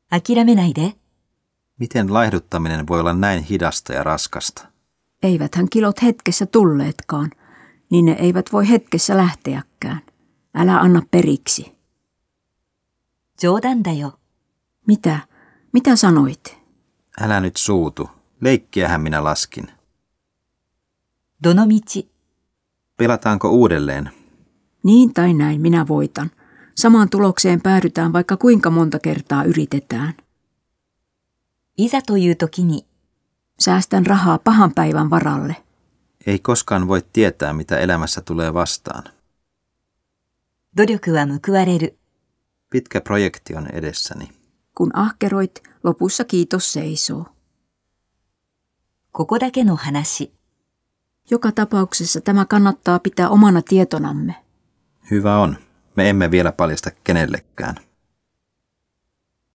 諦めないで。 Miten laihduttaminen voi olla näin hidasta ja raskasta? Eiväthän kilot hetkessä tulleetkaan, niin ne eivät voi hetkessä lähteäkään. Älä anna periksi. 冗談だよ。 Mitä? Mitä sanoit? Älä nyt suutu. Leikkiähän minä laskin. どの道。 Pelataanko uudelleen? Niin tai näin minä voitan. Samaan tulokseen päädytään, vaikka kuinka monta kertaa yritetään. いざという時に。 Säästän rahaa pahan päivän varalle. Ei koskaan voi tietää, mitä elämässä tulee vastaan. 努力は報われる。 Pitkä projekti on edessäni. Kun ahkeroit, lopussa kiitos seisoo. ここだけの話。 Joka tapauksessa tämä kannattaa pitää omana tietonamme. Hyvä on. Me emme vielä paljasta kenellekään.